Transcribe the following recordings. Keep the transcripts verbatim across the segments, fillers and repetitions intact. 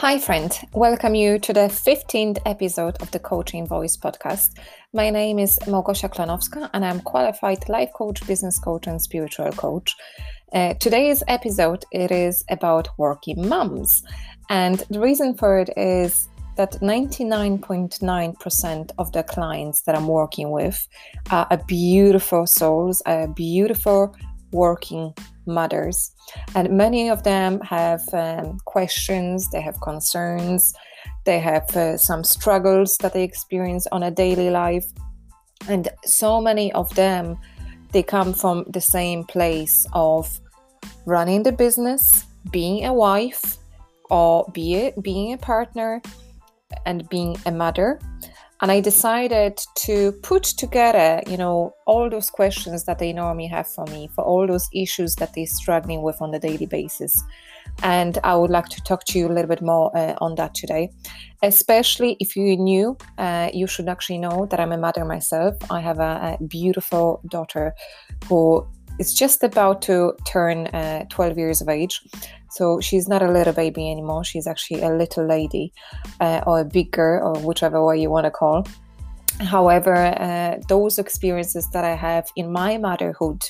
Hi, friend. Welcome you to the fifteenth episode of the Coaching Voice podcast. My name is Małgosia Klonowska and I'm qualified life coach, business coach and spiritual coach. Uh, today's episode, it is about working moms. And the reason for it is that ninety-nine point nine percent of the clients that I'm working with are beautiful souls, are beautiful working mothers, and many of them have um, questions, they have concerns, they have uh, some struggles that they experience on a daily life, and so many of them, they come from the same place of running the business, being a wife, or be a, being a partner, and being a mother. And I decided to put together, you know, all those questions that they normally have for me, for all those issues that they're struggling with on a daily basis. And I would like to talk to you a little bit more uh, on that today. Especially if you're new, uh, you should actually know that I'm a mother myself. I have a, a beautiful daughter who is just about to turn uh, twelve years of age. So she's not a little baby anymore. She's actually a little lady uh, or a big girl, or whichever way you want to call. However, uh, those experiences that I have in my motherhood,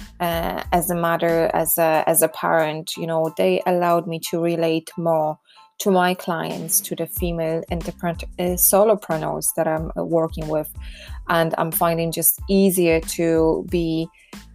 uh, as a mother, as a, as a parent, you know, they allowed me to relate more to my clients, to the female entrepreneur, uh, solopreneurs that I'm uh, working with. And I'm finding just easier to be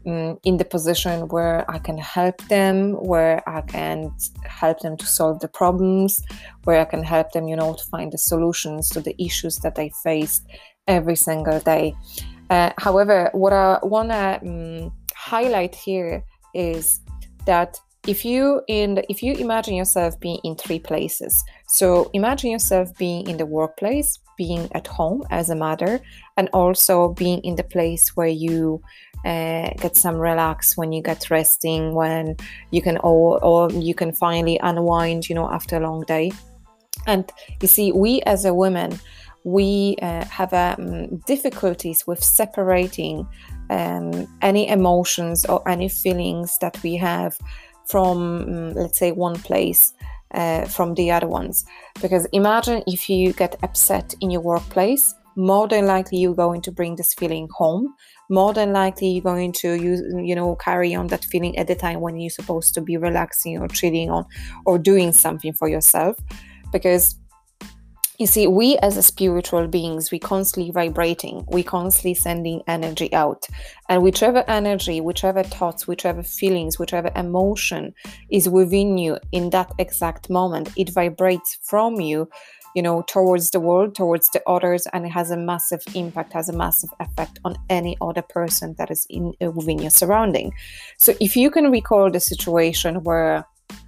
in the position where I can help them, where I can help them to solve the problems, where I can help them, you know, to find the solutions to the issues that they face every single day. Uh, however, what I want to um, highlight here is that if you in the, if you imagine yourself being in three places, so imagine yourself being in the workplace, being at home as a mother, and also being in the place where you uh, get some relax, when you get resting, when you can or, or you can finally unwind, you know, after a long day. And you see, we as a woman, we uh, have um, difficulties with separating um, any emotions or any feelings that we have from, um, let's say, one place uh, from the other ones. Because imagine if you get upset in your workplace, more than likely you're going to bring this feeling home. More than likely you're going to use, you know, carry on that feeling at the time when you're supposed to be relaxing or chilling on or doing something for yourself. Because you see, we as a spiritual beings, we constantly vibrating, we constantly sending energy out. And whichever energy, whichever thoughts, whichever feelings, whichever emotion is within you in that exact moment, it vibrates from you, you know, towards the world, towards the others, and it has a massive impact, has a massive effect on any other person that is in uh, within your surrounding. So if you can recall the situation where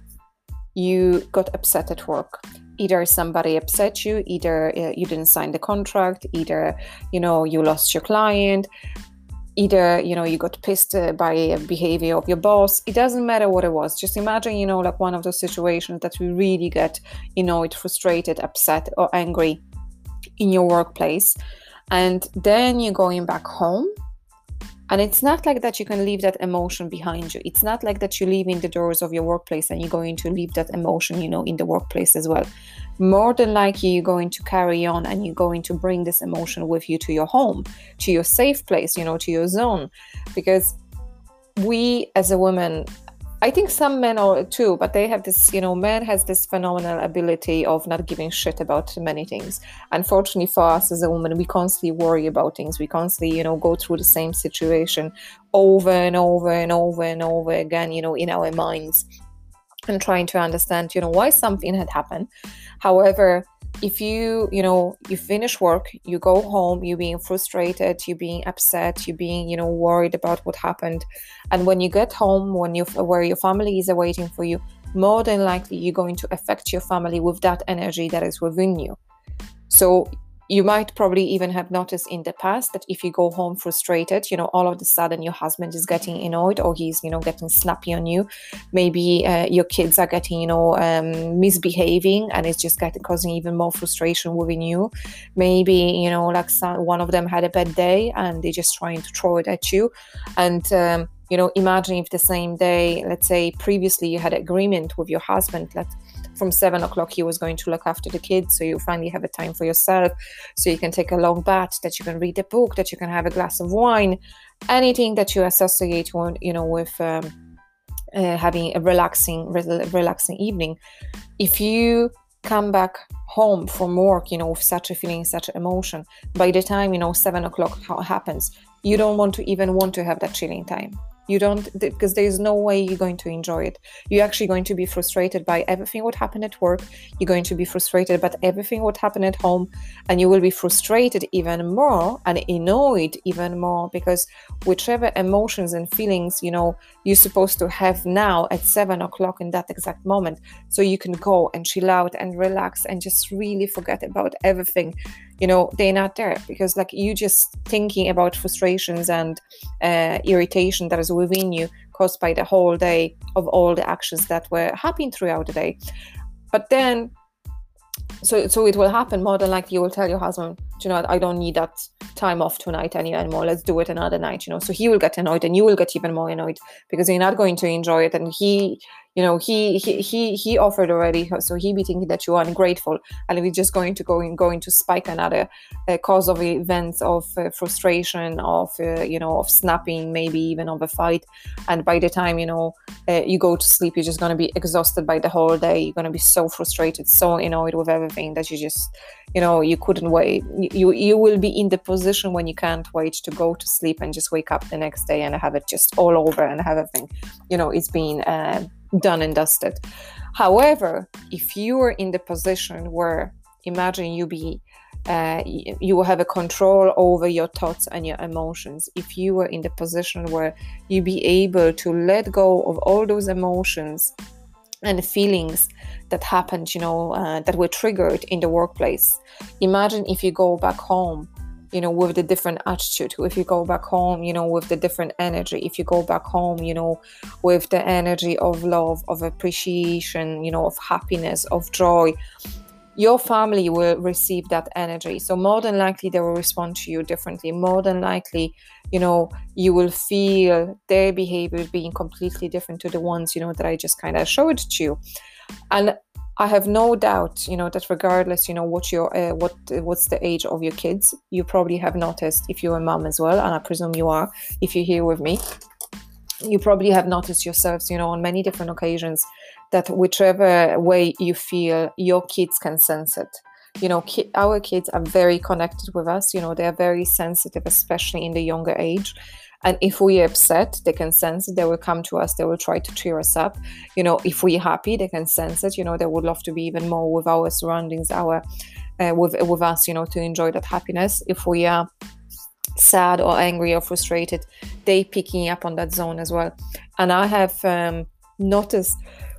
you got upset at work, either somebody upset you, either uh, you didn't sign the contract, either, you know, you lost your client, either, you know, you got pissed uh, by a behavior of your boss. It doesn't matter what it was. Just imagine, you know, like one of those situations that we really get, you know, it frustrated, upset or angry in your workplace. And then you're going back home. And it's not like that you can leave that emotion behind you. It's not like that you leave in the doors of your workplace and you're going to leave that emotion, you know, in the workplace as well. More than likely, you're going to carry on and you're going to bring this emotion with you to your home, to your safe place, you know, to your zone. Because we as a woman, I think some men are too, but they have this, you know, man has this phenomenal ability of not giving shit about many things. Unfortunately for us as a woman, we constantly worry about things. We constantly, you know, go through the same situation over and over and over and over again, you know, in our minds, and trying to understand, you know, why something had happened. However, if you, you know, you finish work, you go home, you're being frustrated, you're being upset, you're being, you know, worried about what happened. And when you get home, when you where your family is awaiting for you, more than likely you're going to affect your family with that energy that is within you. So you might probably even have noticed in the past that if you go home frustrated, you know, all of a sudden your husband is getting annoyed, or he's, you know, getting snappy on you. Maybe uh, your kids are getting, you know, um, misbehaving, and it's just getting causing even more frustration within you. Maybe, you know, like some, one of them had a bad day and they're just trying to throw it at you. And, um, you know, imagine if the same day, let's say previously you had agreement with your husband that from seven o'clock he was going to look after the kids, so you finally have a time for yourself, so you can take a long bath, that you can read a book, that you can have a glass of wine, anything that you associate with, you know, with um, uh, having a relaxing, re- relaxing evening. If you come back home from work, you know, with such a feeling, such an emotion, by the time, you know, seven o'clock happens, you don't want to even want to have that chilling time. You don't, because there's no way you're going to enjoy it. You're actually going to be frustrated by everything what happened at work. You're going to be frustrated about everything what happened at home, and you will be frustrated even more and annoyed even more, because whichever emotions and feelings, you know, you're supposed to have now at seven o'clock in that exact moment, so you can go and chill out and relax and just really forget about everything, you know, they're not there, because like you just thinking about frustrations and uh, irritation that is within you caused by the whole day of all the actions that were happening throughout the day. But then, so so it will happen more than likely, you will tell your husband, you know, I don't need that time off tonight anymore, let's do it another night, you know. So he will get annoyed, and you will get even more annoyed, because you're not going to enjoy it, and he, you know, he he he he offered already, so he be thinking that you are ungrateful, and we're just going to go in going to spike another uh, cause of events of uh, frustration, of uh, you know, of snapping, maybe even of a fight. And by the time, you know, uh, you go to sleep, you're just going to be exhausted by the whole day. You're going to be so frustrated, so annoyed with everything, that you just, you know, you couldn't wait. You you will be in the position when you can't wait to go to sleep and just wake up the next day and have it just all over and have everything, you know, it's been uh, done and dusted. However, if you are in the position where, imagine you be, uh, you will have a control over your thoughts and your emotions. If you were in the position where you be able to let go of all those emotions and feelings that happened, you know, uh, that were triggered in the workplace. Imagine if you go back home, you know, with the different attitude, if you go back home, you know, with the different energy, if you go back home, you know, with the energy of love, of appreciation, you know, of happiness, of joy, your family will receive that energy. So more than likely they will respond to you differently. More than likely, you know, you will feel their behavior being completely different to the ones, you know, that I just kind of showed to you. And I have no doubt, you know, that regardless, you know, what your uh, what what's the age of your kids, you probably have noticed, if you're a mom as well, and I presume you are, if you're here with me, you probably have noticed yourselves, you know, on many different occasions, that whichever way you feel, your kids can sense it. You know, ki- our kids are very connected with us. You know, they are very sensitive, especially in the younger age. And if we're upset, they can sense it. They will come to us. They will try to cheer us up. You know, if we're happy, they can sense it. You know, they would love to be even more with our surroundings, our uh, with with us. You know, to enjoy that happiness. If we are sad or angry or frustrated, they picking up on that zone as well. And I have um, noticed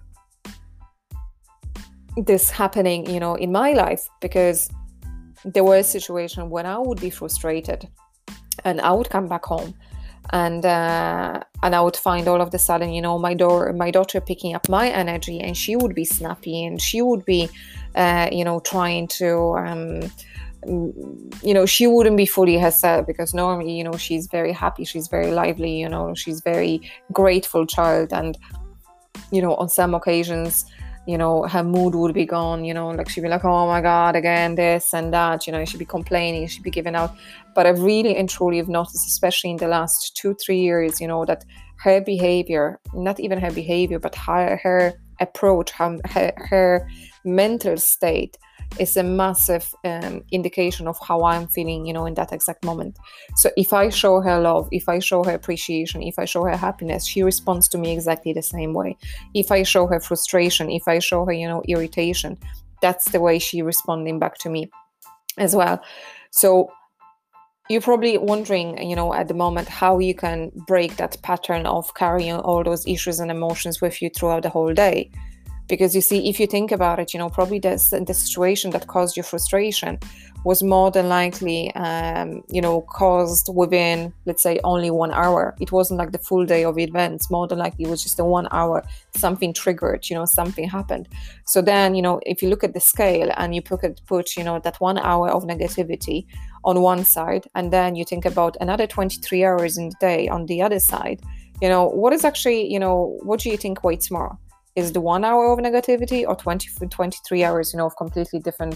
this happening, you know, in my life, because there were a situation when I would be frustrated and I would come back home and uh, and I would find all of a sudden, you know, my daughter, my daughter picking up my energy, and she would be snappy, and she would be, uh, you know, trying to, um, you know, she wouldn't be fully herself, because normally, you know, she's very happy, she's very lively, you know, she's very grateful child, and, you know, on some occasions, you know, her mood would be gone, you know, like she'd be like, oh my God, again, this and that, you know, she'd be complaining, she'd be giving out. But I really and truly have noticed, especially in the last two, three years, you know, that her behavior, not even her behavior, but her, her approach, her, her, her mental state is a massive um, indication of how I'm feeling, you know, in that exact moment. So if I show her love, if I show her appreciation, if I show her happiness, she responds to me exactly the same way. If I show her frustration, if I show her, you know, irritation, that's the way she responding back to me as well. So you're probably wondering, you know, at the moment, how you can break that pattern of carrying all those issues and emotions with you throughout the whole day. Because you see, if you think about it, you know, probably this, the situation that caused you frustration was more than likely, um, you know, caused within, let's say, only one hour. It wasn't like the full day of events. More than likely, it was just a one hour, something triggered, you know, something happened. So then, you know, if you look at the scale and you put, put you know, that one hour of negativity on one side, and then you think about another twenty-three hours in the day on the other side, you know, what is actually, you know, what do you think weighs more? Is the one hour of negativity or twenty, twenty-three hours, you know, of completely different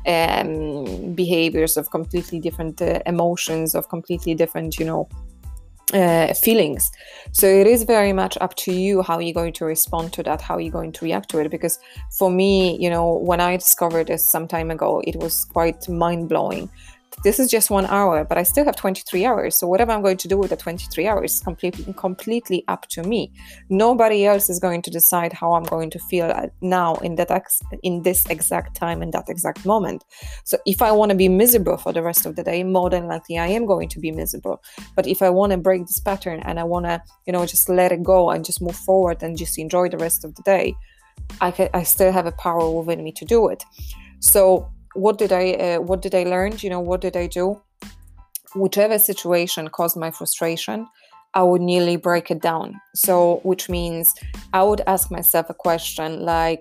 um, behaviors, of completely different uh, emotions, of completely different, you know, uh, feelings. So it is very much up to you how you're going to respond to that, how you're going to react to it. Because for me, you know, when I discovered this some time ago, it was quite mind-blowing. This is just one hour, but I still have twenty-three hours. So whatever I'm going to do with the twenty-three hours is completely, completely up to me. Nobody else is going to decide how I'm going to feel now in that ex- in this exact time, in that exact moment. So if I want to be miserable for the rest of the day, more than likely I am going to be miserable. But if I want to break this pattern and I want to, you know, just let it go and just move forward and just enjoy the rest of the day, I can, I still have a power within me to do it. So What did I uh, what did I learn? You know, what did I do? Whichever situation caused my frustration, I would nearly break it down. So, which means I would ask myself a question like,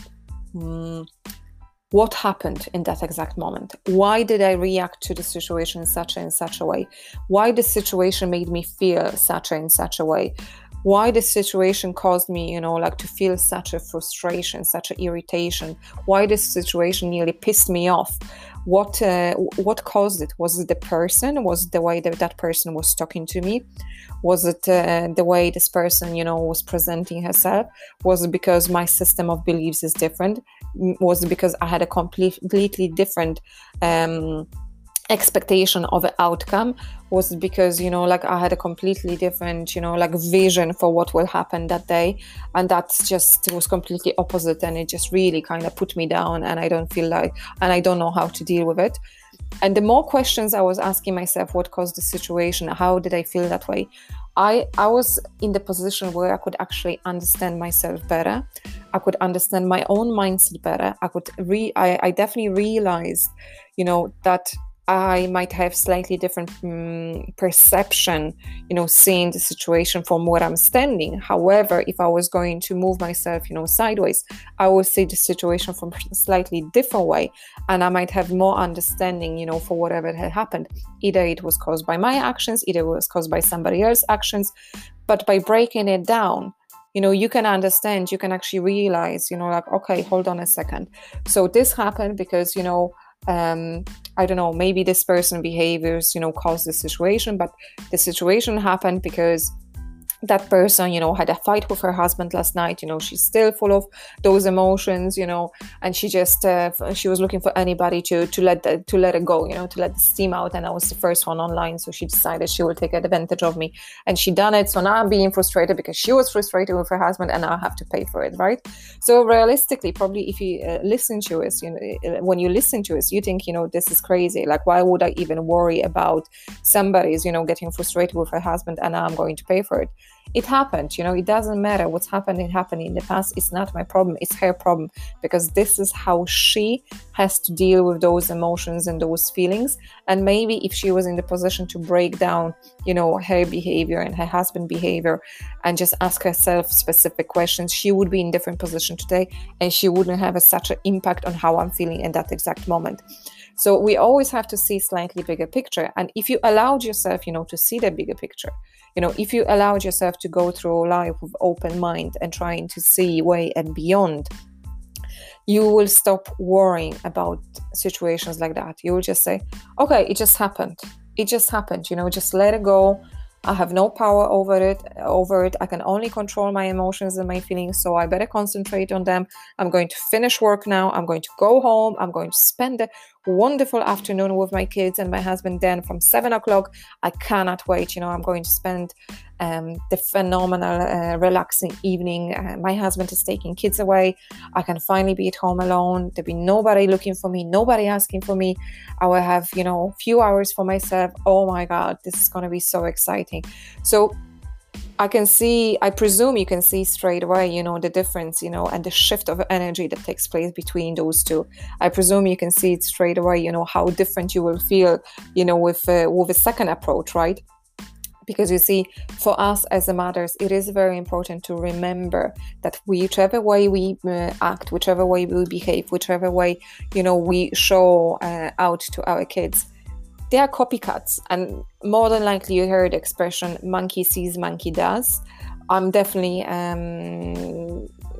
mm, what happened in that exact moment? Why did I react to the situation in such and such a way? Why the situation made me feel such and such a way? Why the situation caused me, you know, like to feel such a frustration, such an irritation? Why this situation nearly pissed me off? What uh, what caused it? Was it the person? Was it the way that that person was talking to me? Was it uh, the way this person, you know, was presenting herself? Was it because my system of beliefs is different? Was it because I had a completely different um expectation of an outcome? Was it because, you know, like I had a completely different, you know, like vision for what will happen that day, and that just was completely opposite, and it just really kind of put me down, and I don't feel like, and I don't know how to deal with it. And the more questions I was asking myself, what caused the situation? How did I feel that way? I, I was in the position where I could actually understand myself better. I could understand my own mindset better. I could re I, I definitely realized, you know, that I might have slightly different um, perception, you know, seeing the situation from where I'm standing. However, if I was going to move myself, you know, sideways, I would see the situation from a slightly different way, and I might have more understanding, you know, for whatever had happened. Either it was caused by my actions, either it was caused by somebody else's actions. But by breaking it down, you know, you can understand, you can actually realize, you know, like, okay, hold on a second. So this happened because, you know, um, I don't know, maybe this person behaviors, you know, caused the situation, but the situation happened because that person, you know, had a fight with her husband last night. You know, she's still full of those emotions, you know, and she just uh, she was looking for anybody to to let the, to let it go, you know, to let the steam out. And I was the first one online, so she decided she will take advantage of me, and she done it. So now I'm being frustrated because she was frustrated with her husband, and I have to pay for it, right? So realistically, probably if you uh, listen to us, you know, when you listen to us, you think, you know, this is crazy. Like, why would I even worry about somebody's, you know, getting frustrated with her husband, and now I'm going to pay for it? It happened, you know, it doesn't matter what's happened. It happened in the past. It's not my problem. It's her problem, because this is how she has to deal with those emotions and those feelings. And maybe if she was in the position to break down, you know, her behavior and her husband's behavior and just ask herself specific questions, she would be in a different position today, and she wouldn't have a, such an impact on how I'm feeling in that exact moment. So we always have to see slightly bigger picture. And if you allowed yourself, you know, to see the bigger picture, you know, if you allowed yourself to go through life with open mind and trying to see way and beyond, you will stop worrying about situations like that. You will just say, okay, it just happened. It just happened, you know, just let it go. I have no power over it, over it. I can only control my emotions and my feelings, so I better concentrate on them. I'm going to finish work now. I'm going to go home. I'm going to spend a wonderful afternoon with my kids and my husband. Then from seven o'clock, I cannot wait. You know, I'm going to spend um, the phenomenal, uh, relaxing evening. Uh, my husband is taking kids away. I can finally be at home alone. There'll be nobody looking for me, nobody asking for me. I will have, you know, a few hours for myself. Oh my God, this is going to be so exciting. So I can see, I presume you can see straight away, you know, the difference, you know, and the shift of energy that takes place between those two. I presume you can see it straight away, you know, how different you will feel, you know, with, uh, with a second approach, right? Because you see, for us as mothers, it is very important to remember that whichever way we uh, act, whichever way we behave, whichever way, you know, we show uh, out to our kids, they are copycats. And more than likely you heard the expression, monkey sees, monkey does. I'm definitely um,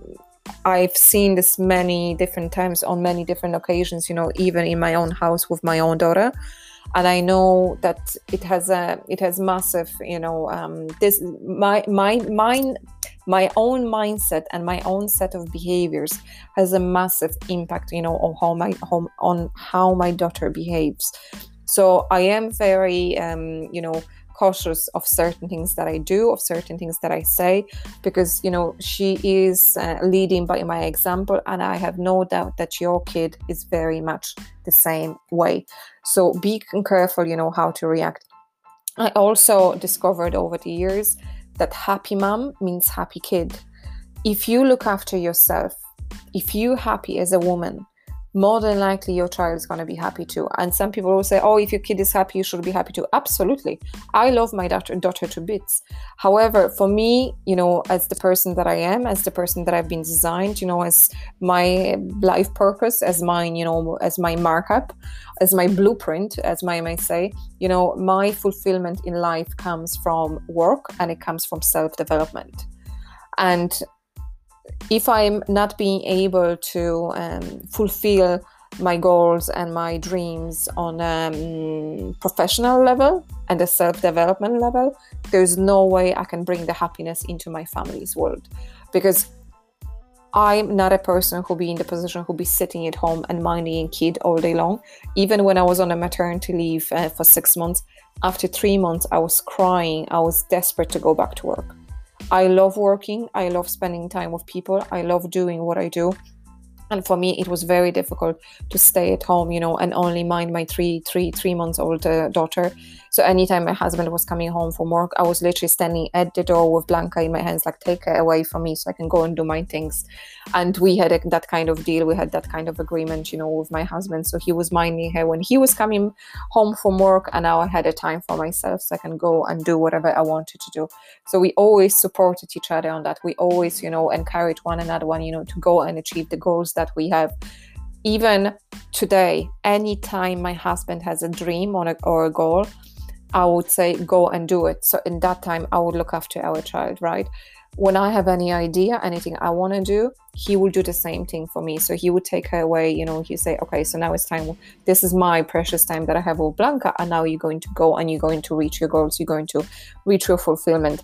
I've seen this many different times on many different occasions, you know, even in my own house with my own daughter. And I know that it has a, it has massive, you know, um, this, my, my, mine, my own mindset and my own set of behaviors has a massive impact, you know, on how my, home, on how my daughter behaves. So I am very, um, you know, cautious of certain things that I do, of certain things that I say, because, you know, she is uh, leading by my example, and I have no doubt that your kid is very much the same way. So be careful, you know, how to react. I also discovered over the years that happy mom means happy kid. If you look after yourself, if you're happy as a woman, more than likely your child is going to be happy too. And some people will say, oh, if your kid is happy, you should be happy too. Absolutely. I love my daughter, daughter to bits. However, for me, you know, as the person that I am, as the person that I've been designed, you know, as my life purpose, as mine, you know, as my markup, as my blueprint, as my may say, you know, my fulfillment in life comes from work, and it comes from self-development. And if I'm not being able to um, fulfill my goals and my dreams on a um, professional level and a self-development level, there's no way I can bring the happiness into my family's world, because I'm not a person who'll be in the position who'll be sitting at home and minding a kid all day long. Even when I was on a maternity leave uh, for six months, after three months, I was crying. I was desperate to go back to work. I love working. I love spending time with people. I love doing what I do. And for me, it was very difficult to stay at home, you know, and only mind my three, three, three months old uh, daughter. So anytime my husband was coming home from work, I was literally standing at the door with Blanca in my hands, like, take her away from me so I can go and do my things. And we had a, that kind of deal. We had that kind of agreement, you know, with my husband. So he was minding her when he was coming home from work, and now I had a time for myself so I can go and do whatever I wanted to do. So we always supported each other on that. We always, you know, encouraged one another, one, you know, to go and achieve the goals that we have. Even today, anytime my husband has a dream or a, or a goal, I would say go and do it. So in that time, I would look after our child, right? When I have any idea, anything I want to do, he will do the same thing for me. So he would take her away, you know, he say, okay, so now it's time. This is my precious time that I have with Blanca, and now you're going to go and you're going to reach your goals. You're going to reach your fulfillment.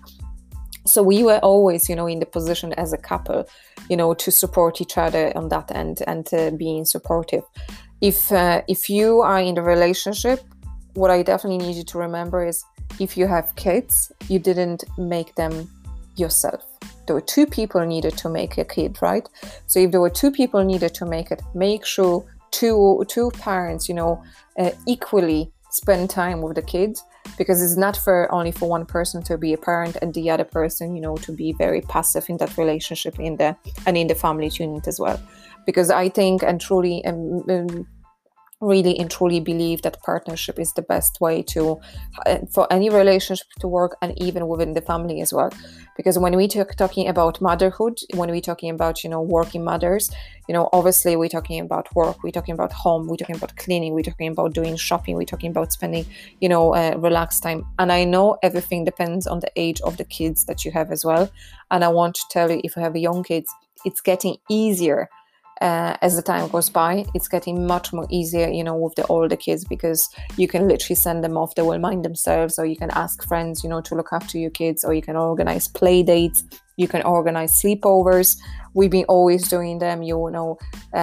So we were always, you know, in the position as a couple, you know, to support each other on that end and uh, being supportive. If uh, if you are in the relationship, what I definitely need you to remember is, if you have kids, you didn't make them yourself. There were two people needed to make a kid, right? So if there were two people needed to make it, make sure two two parents, you know, uh, equally spend time with the kids, because it's not for only for one person to be a parent and the other person, you know, to be very passive in that relationship in the and in the family unit as well. Because I think and truly um, um, really and truly believe that partnership is the best way to uh, for any relationship to work, and even within the family as well. Because when we talk talking about motherhood, when we're talking about, you know, working mothers, you know, obviously we're talking about work, we're talking about home, we're talking about cleaning, we're talking about doing shopping, we're talking about spending, you know, uh, relaxed time. And I know everything depends on the age of the kids that you have as well. And I want to tell you, if you have young kids, it's getting easier. Uh, as the time goes by, it's getting much more easier, you know, with the older kids, because you can literally send them off, they will mind themselves, or you can ask friends, you know, to look after your kids, or you can organize play dates, you can organize sleepovers. We've been always doing them, you know.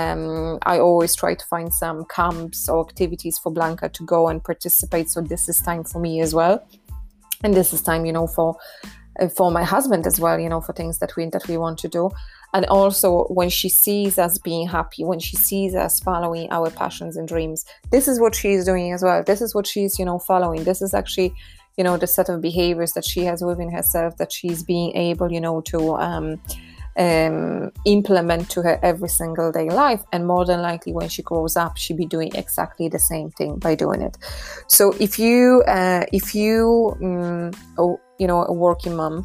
Um, I always try to find some camps or activities for Blanca to go and participate. So this is time for me as well. And this is time, you know, for for my husband as well, you know, for things that we that we want to do. And also when she sees us being happy, when she sees us following our passions and dreams, this is what she's doing as well. This is what she's, you know, following. This is actually, you know, the set of behaviors that she has within herself that she's being able, you know, to um, um, implement to her every single day life. And more than likely when she grows up, she'll be doing exactly the same thing by doing it. So if you, uh, if you, um, oh, you know, a working mom,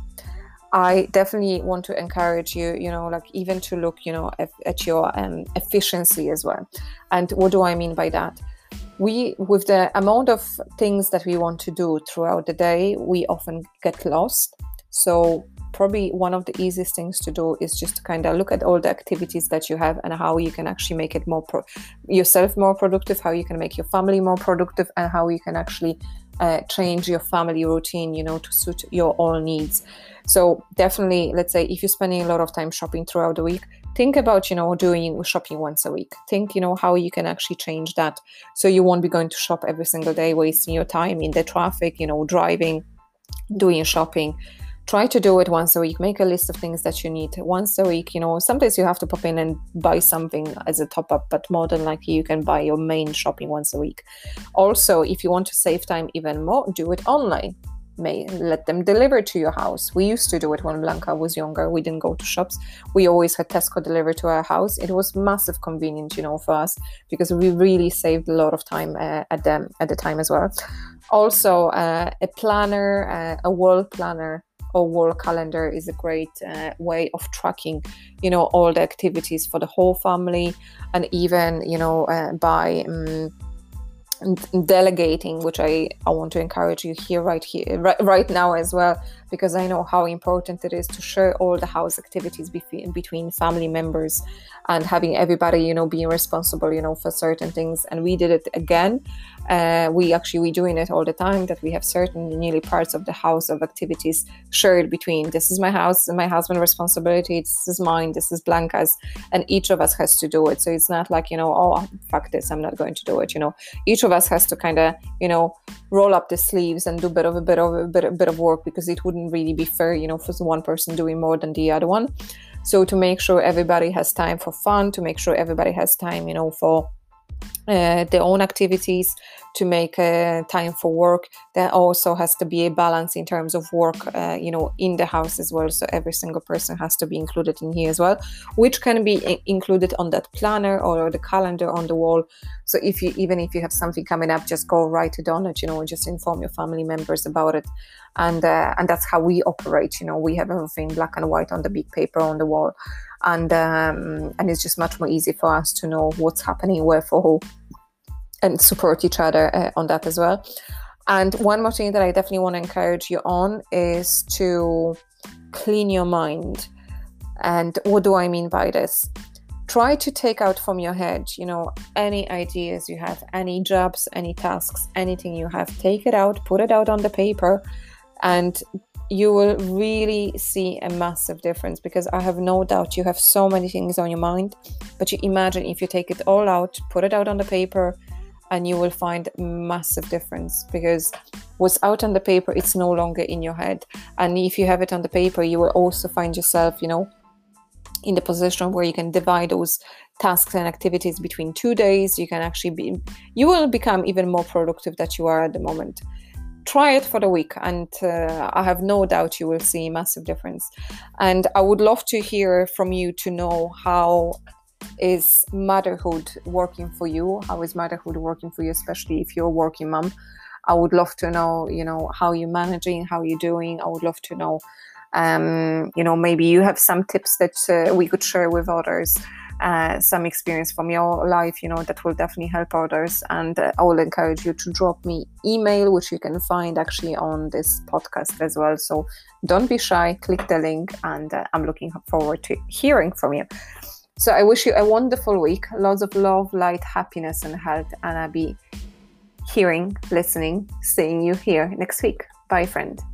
I definitely want to encourage you, you know, like even to look, you know, at, at your um, efficiency as well. And what do I mean by that? We, with the amount of things that we want to do throughout the day, we often get lost. So probably one of the easiest things to do is just to kind of look at all the activities that you have and how you can actually make it more pro- yourself more productive, how you can make your family more productive, and how you can actually uh, change your family routine, you know, to suit your own needs. So definitely, let's say if you're spending a lot of time shopping throughout the week, think about, you know, doing shopping once a week. Think, you know, how you can actually change that. So you won't be going to shop every single day, wasting your time in the traffic, you know, driving, doing shopping. Try to do it once a week. Make a list of things that you need once a week. You know, sometimes you have to pop in and buy something as a top up, but more than likely you can buy your main shopping once a week. Also, if you want to save time even more, do it online. May let them deliver to your house. We used to do it when Blanca was younger. We didn't go to shops. We always had Tesco delivered to our house. It was massive convenient, you know, for us, because we really saved a lot of time uh, at them at the time as well. Also, uh, a planner, uh, a wall planner or wall calendar is a great uh, way of tracking, you know, all the activities for the whole family, and even, you know, uh, by um, delegating, which I, I want to encourage you here right here right, right now as well, because I know how important it is to share all the house activities between between family members, and having everybody, you know, being responsible, you know, for certain things. And we did it again. Uh, we actually we doing it all the time, that we have certain nearly parts of the house of activities shared between, this is my house and my husband's responsibility, this is mine, this is Blanca's, and each of us has to do it. So it's not like, you know, oh, fuck this, I'm not going to do it. You know, each of us has to kind of, you know, roll up the sleeves and do a bit of a bit of a bit, a bit of work, because it wouldn't really be fair, you know, for one person doing more than the other one. So to make sure everybody has time for fun, to make sure everybody has time, you know, for uh, their own activities, to make uh, time for work, there also has to be a balance in terms of work, uh, you know, in the house as well. So every single person has to be included in here as well, which can be I- included on that planner or the calendar on the wall. So if you, even if you have something coming up, just go write it on it, you know, and just inform your family members about it. And uh, and that's how we operate. You know, we have everything black and white on the big paper on the wall, and um, and it's just much more easy for us to know what's happening where for who, and support each other uh, on that as well. And one more thing that I definitely want to encourage you on is to clean your mind. And what do I mean by this? Try to take out from your head, you know, any ideas you have, any jobs, any tasks, anything you have, take it out, put it out on the paper, and you will really see a massive difference, because I have no doubt you have so many things on your mind. But you imagine if you take it all out, put it out on the paper, and you will find massive difference, because what's out on the paper, it's no longer in your head. And if you have it on the paper, you will also find yourself, you know, in the position where you can divide those tasks and activities between two days. You can actually be, you will become even more productive than you are at the moment. Try it for the week, and uh, I have no doubt you will see a massive difference. And I would love to hear from you to know, how is motherhood working for you? How is motherhood working for you, especially if you're a working mom? I would love to know, you know, how you're managing, how you're doing. I would love to know, um, you know, maybe you have some tips that uh, we could share with others. Uh, some experience from your life, you know, that will definitely help others. And uh, I will encourage you to drop me email, which you can find actually on this podcast as well. So don't be shy, click the link, and uh, I'm looking forward to hearing from you. So I wish you a wonderful week, lots of love, light, happiness, and health. And I'll be hearing, listening, seeing you here next week. Bye, friend.